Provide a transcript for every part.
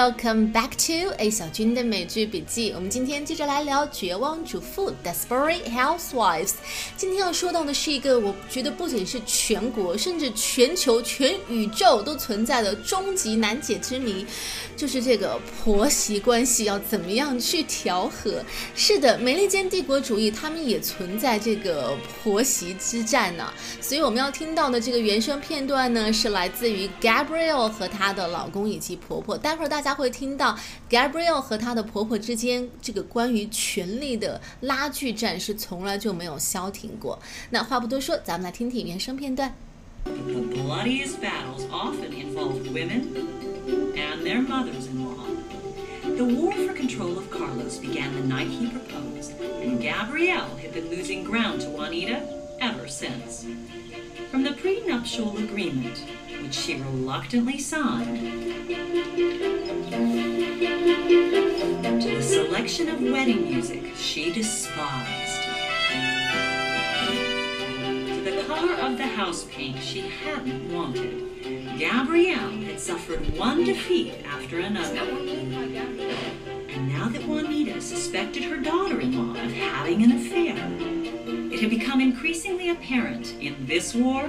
Welcome back to A 小军的美剧笔记。我们今天接着来聊绝望主妇 Desperate Housewives。今天要说到的是一个我觉得不仅是全国甚至全球全宇宙都存在的终极难解之谜，就是这个婆媳关系要怎么样去调和。是的，美利坚帝国主义他们也存在这个婆媳之战呢。所以我们要听到的这个原声片段呢，是来自于 Gabrielle 和她的老公以及婆婆。待会儿大家会听到 Gabrielle 和她的婆婆之间这个关于权力的拉锯战是从来就没有消停过。那话不多说，咱们来听听原声片段。 The bloodiest battles often involved women and their mothers-in-law. The war for control of Carlos began the night he proposed, and Gabrielle had been losing ground to Juanita ever since. From the prenuptial agreement, which she reluctantly signed, to the selection of wedding music she despised, to the color of the house paint she hadn't wanted, Gabrielle had suffered one defeat after another. And now that Juanita suspected her daughter-in-law of having an affair, it had become increasingly apparent in this war,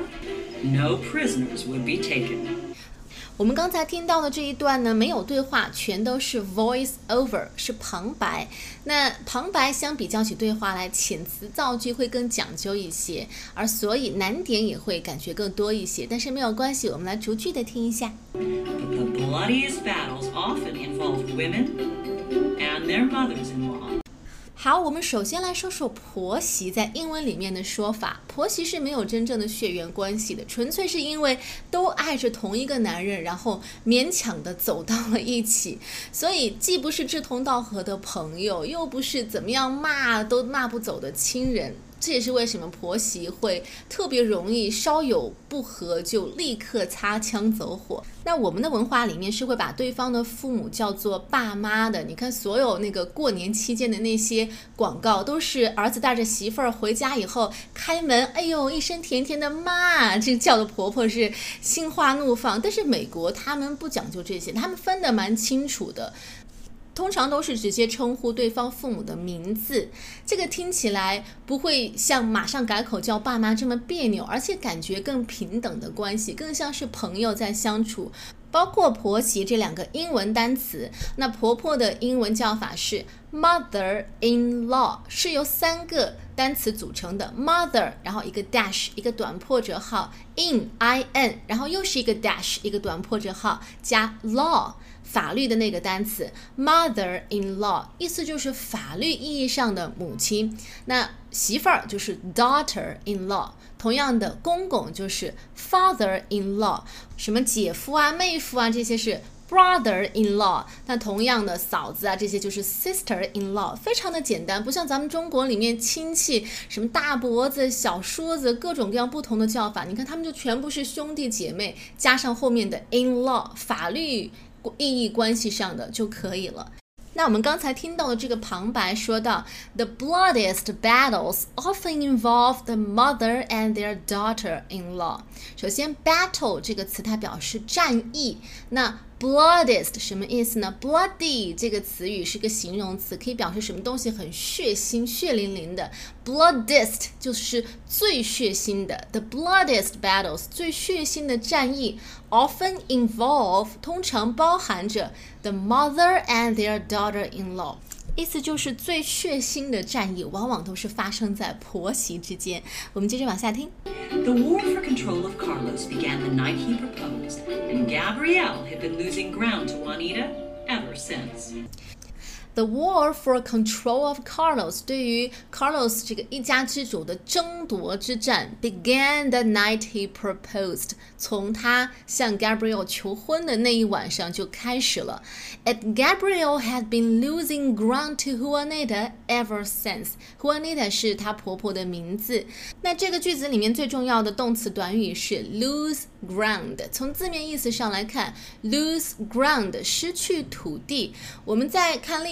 no prisoners would be taken. 我们刚才听到的这一段呢，没有对话，全都是 voice over， 是旁白。那旁白相比较起对话来，遣词造句会更讲究一些，而所以难点也会感觉更多一些。但是没有关系，我们来逐句的听一下。 But the bloodiest battles often involved women and their mothers-in-law. 好，我们首先来说说婆媳在英文里面的说法。婆媳是没有真正的血缘关系的，纯粹是因为都爱着同一个男人，然后勉强的走到了一起，所以既不是志同道合的朋友，又不是怎么样骂都骂不走的亲人。这也是为什么婆媳会特别容易稍有不和就立刻擦枪走火。那我们的文化里面是会把对方的父母叫做爸妈的，你看所有那个过年期间的那些广告，都是儿子带着媳妇儿回家以后开门，哎呦一声甜甜的妈，这叫的婆婆是心花怒放。但是美国他们不讲究这些，他们分得蛮清楚的。通常都是直接称呼对方父母的名字，这个听起来不会像马上改口叫爸妈这么别扭，而且感觉更平等的关系，更像是朋友在相处。包括婆媳这两个英文单词，那婆婆的英文叫法是 mother-in-law， 是由3个单词组成的 mother， 然后一个 dash， 一个短破折号 in， 然后又是一个 dash， 一个短破折号加 law，法律的那个单词 mother-in-law， 意思就是法律意义上的母亲。那媳妇儿就是 daughter-in-law， 同样的公公就是 father-in-law， 什么姐夫啊妹夫啊这些是 brother-in-law， 那同样的嫂子啊这些就是 sister-in-law， 非常的简单，不像咱们中国里面亲戚什么大伯子小叔子各种各样不同的叫法，你看他们就全部是兄弟姐妹加上后面的 in-law， 法律意义关系上的就可以了。那我们刚才听到的这个旁白说到 The bloodiest battles often involve the mother and their daughter-in-law。 首先 battle 这个词它表示战役，那bloodiest 什么意思呢？ bloody 这个词语是个形容词，可以表示什么东西很血腥血淋淋的。 bloodiest 就是最血腥的， the bloodiest battles 最血腥的战役 often involve 通常包含着 the mother and their daughter-in-law， 意思就是最血腥的战役往往都是发生在婆媳之间。我们接着往下听。 The war for control of Carlos began the night he proposed, and Gabrielle had been losing ground to Juanita ever since. The war for control of Carlos 对于 Carlos 这个一家之主的争夺之战 began the night he proposed 从他向 Gabrielle 求婚的那一晚上就开始了。 And Gabrielle had been losing ground to Juanita ever since。 Juanita 是她婆婆的名字。那这个句子里面最重要的动词短语是 lose ground， 从字面意思上来看 lose ground 失去土地。我们在看历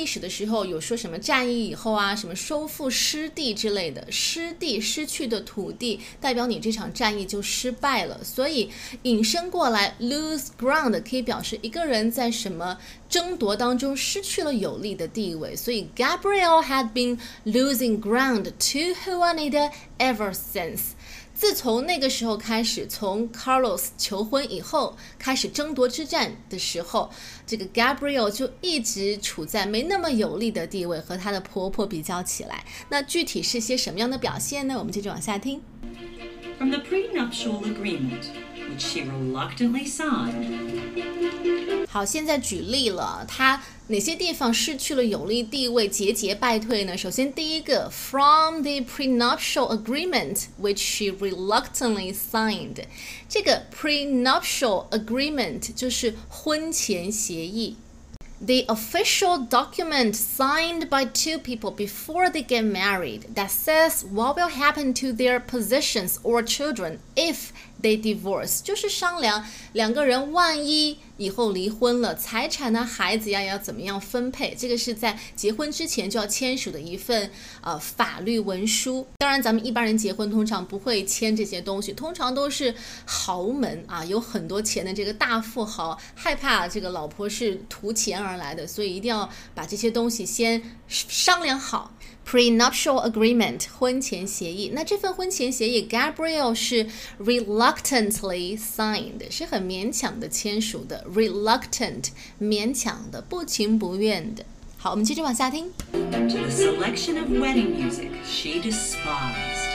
史的时候有说什么战役以后啊，什么收复失地之类的，失地失去的土地代表你这场战役就失败了，所以引申过来 lose ground 可以表示一个人在什么争夺当中失去了有利的地位，所以 Gabrielle had been losing ground to Juanita ever since。自从那个时候开始，从 Carlos 求婚以后开始争夺之战的时候，这个 Gabrielle 就一直处在没那么有利的地位，和她的婆婆比较起来。那具体是些什么样的表现呢？我们接着往下听。 From the prenuptial agreement, which she reluctantly signed. 好，现在举例了，她哪些地方失去了有利地位，节节败退呢？首先第一个 from the prenuptial agreement which she reluctantly signed， 这个 prenuptial agreement 就是婚前协议。The official document signed by two people before they get married that says what will happen to their possessions or children if they divorce， 就是商量两个人万一以后离婚了，财产呢、孩子呀要怎么样分配，这个是在结婚之前就要签署的一份法律文书。当然咱们一般人结婚通常不会签这些东西，通常都是豪门啊，有很多钱的这个大富豪害怕这个老婆是图钱而来的，所以一定要把这些东西先商量好。Prenuptial agreement 婚前协议，那这份婚前协议 Gabrielle 是 reluctantly signed， 是很勉强的签署的， reluctant 勉强的，不情不愿的。好，我们接着往下听。 To the selection of wedding music she despised.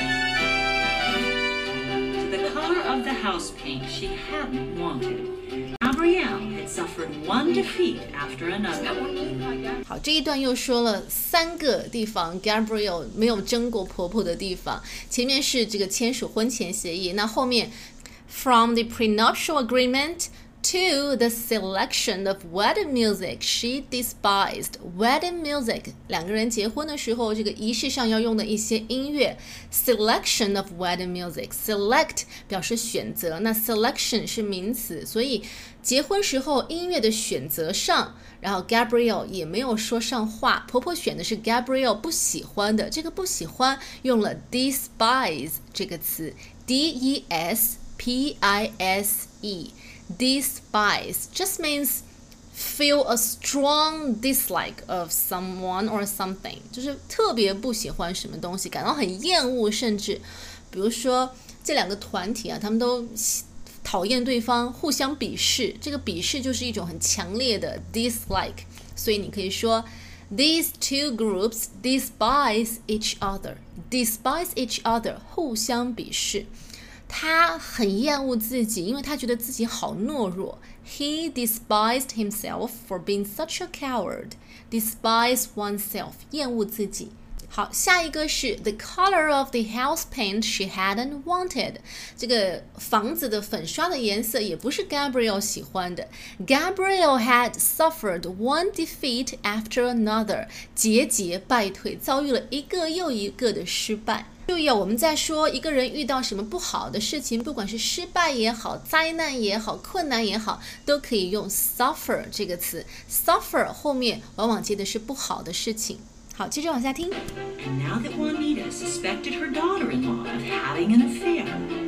To the color of the house paint she hadn't wanted.Gabrielle had suffered one defeat after another. 好，这一段又说了3个地方 Gabrielle 没有争过婆婆的地方。前面是这个签署婚前协议，那后面 from the prenuptial agreement to the selection of wedding music she despised. Wedding music 两个人结婚的时候这个仪式上要用的一些音乐。Selection of wedding music， select 表示选择，那 selection 是名词，所以结婚时候音乐的选择上，然后 Gabrielle 也没有说上话，婆婆选的是 Gabrielle 不喜欢的，这个不喜欢用了 despise 这个词 despise just means feel a strong dislike of someone or something， 就是特别不喜欢什么东西，感到很厌恶，甚至比如说这两个团体啊，他们都讨厌对方，互相鄙视，这个鄙视就是一种很强烈的 dislike， 所以你可以说 These two groups despise each other. Despise each other 互相鄙视。他很厌恶自己，因为他觉得自己好懦弱。He despised himself for being such a coward. Despise oneself 厌恶自己。好，下一个是 the color of the house paint she hadn't wanted。 这个房子的粉刷的颜色也不是 Gabrielle 喜欢的。Gabrielle had suffered one defeat after another， 节节败退，遭遇了一个又一个的失败。注意我们在说一个人遇到什么不好的事情，不管是失败也好，灾难也好，困难也好，都可以用 suffer 这个词。 suffer 后面往往接的是不好的事情。好，接着往下听。 And now that Juanita suspected her daughter-in-law of having an affair,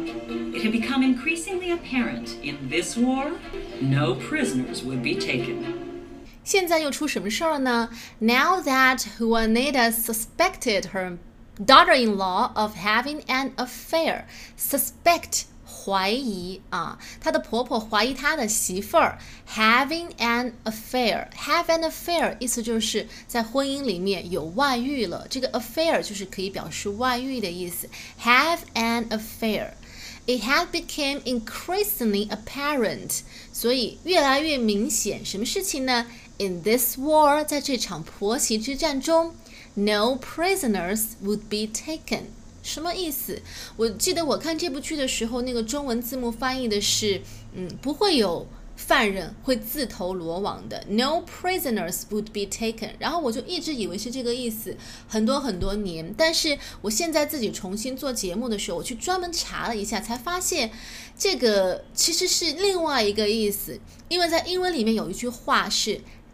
it had become increasingly apparent in this war, no prisoners would be taken. 现在又出什么事儿了呢？ Now that Juanita suspected her daughter-in-law of having an affair. Suspect 怀疑啊，她的婆婆怀疑她的媳妇儿 having an affair. Have an affair 意思就是在婚姻里面有外遇了，这个 affair 就是可以表示外遇的意思。Have an affair. It had become increasingly apparent. 所以越来越明显，什么事情呢？ In this war 在这场婆媳之战中No prisoners would be taken. 什么意思？我记得我看这部剧的时候，那个中文字幕翻译的是，不会有犯人会自投罗网的。No prisoners would be taken. 然后我就一直以为是这个意思，很多很多年。但是我现在自己重新做节目的时候，我去专门查了一下，才发现这个其实是另外一个意思。因为在英文里面有一句话是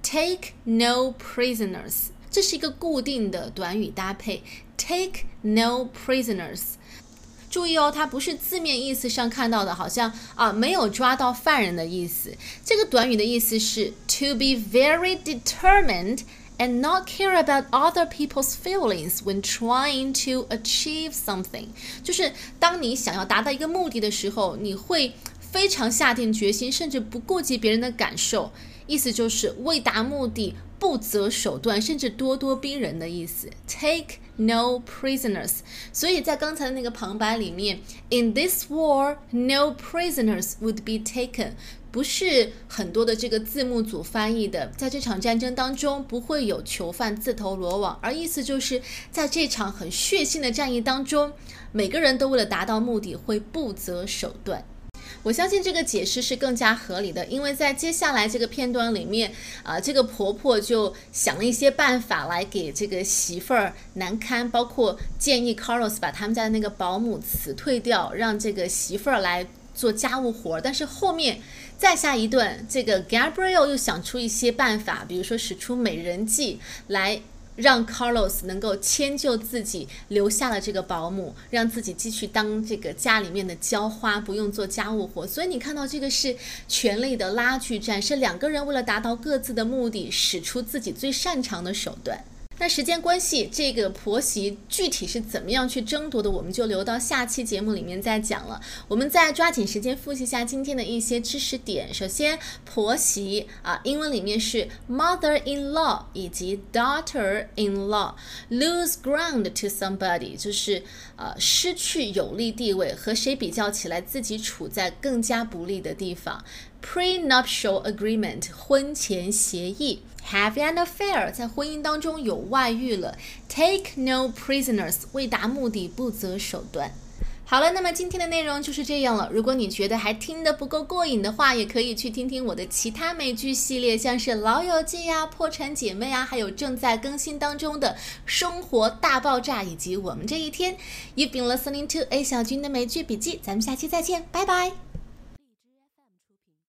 take no prisoners， 这是一个固定的短语搭配 take no prisoners。注意哦，它不是字面意思上看到的好像没有抓到犯人的意思。这个短语的意思是 to be very determined and not care about other people's feelings when trying to achieve something， 就是当你想要达到一个目的的时候，你会非常下定决心，甚至不顾及别人的感受，意思就是为达目的不择手段，甚至咄咄逼人的意思。 Take no prisoners， 所以在刚才的那个旁白里面 In this war, no prisoners would be taken， 不是很多的这个字幕组翻译的在这场战争当中不会有囚犯自投罗网，而意思就是在这场很血腥的战役当中，每个人都为了达到目的会不择手段。我相信这个解释是更加合理的，因为在接下来这个片段里面这个婆婆就想了一些办法来给这个媳妇儿难堪，包括建议 Carlos 把他们家的那个保姆辞退掉，让这个媳妇儿来做家务活。但是后面再下一段，这个 Gabriel 又想出一些办法，比如说使出美人计来让 Carlos 能够迁就自己，留下了这个保姆，让自己继续当这个家里面的浇花，不用做家务活。所以你看到这个是权力的拉锯战，是两个人为了达到各自的目的，使出自己最擅长的手段。那时间关系，这个婆媳具体是怎么样去争夺的，我们就留到下期节目里面再讲了。我们再抓紧时间复习一下今天的一些知识点。首先，婆媳英文里面是 mother-in-law 以及 daughter-in-law。 lose ground to somebody 就是失去有利地位，和谁比较起来自己处在更加不利的地方。Prenuptial agreement 婚前协议。Have an affair 在婚姻当中有外遇了。Take no prisoners 为达目的不择手段。好了，那么今天的内容就是这样了。如果你觉得还听得不够过瘾的话，也可以去听听我的其他美剧系列，像是老友记破产姐妹还有正在更新当中的生活大爆炸以及我们这一天。You've been listening to A 小军的美剧笔记，咱们下期再见，拜拜。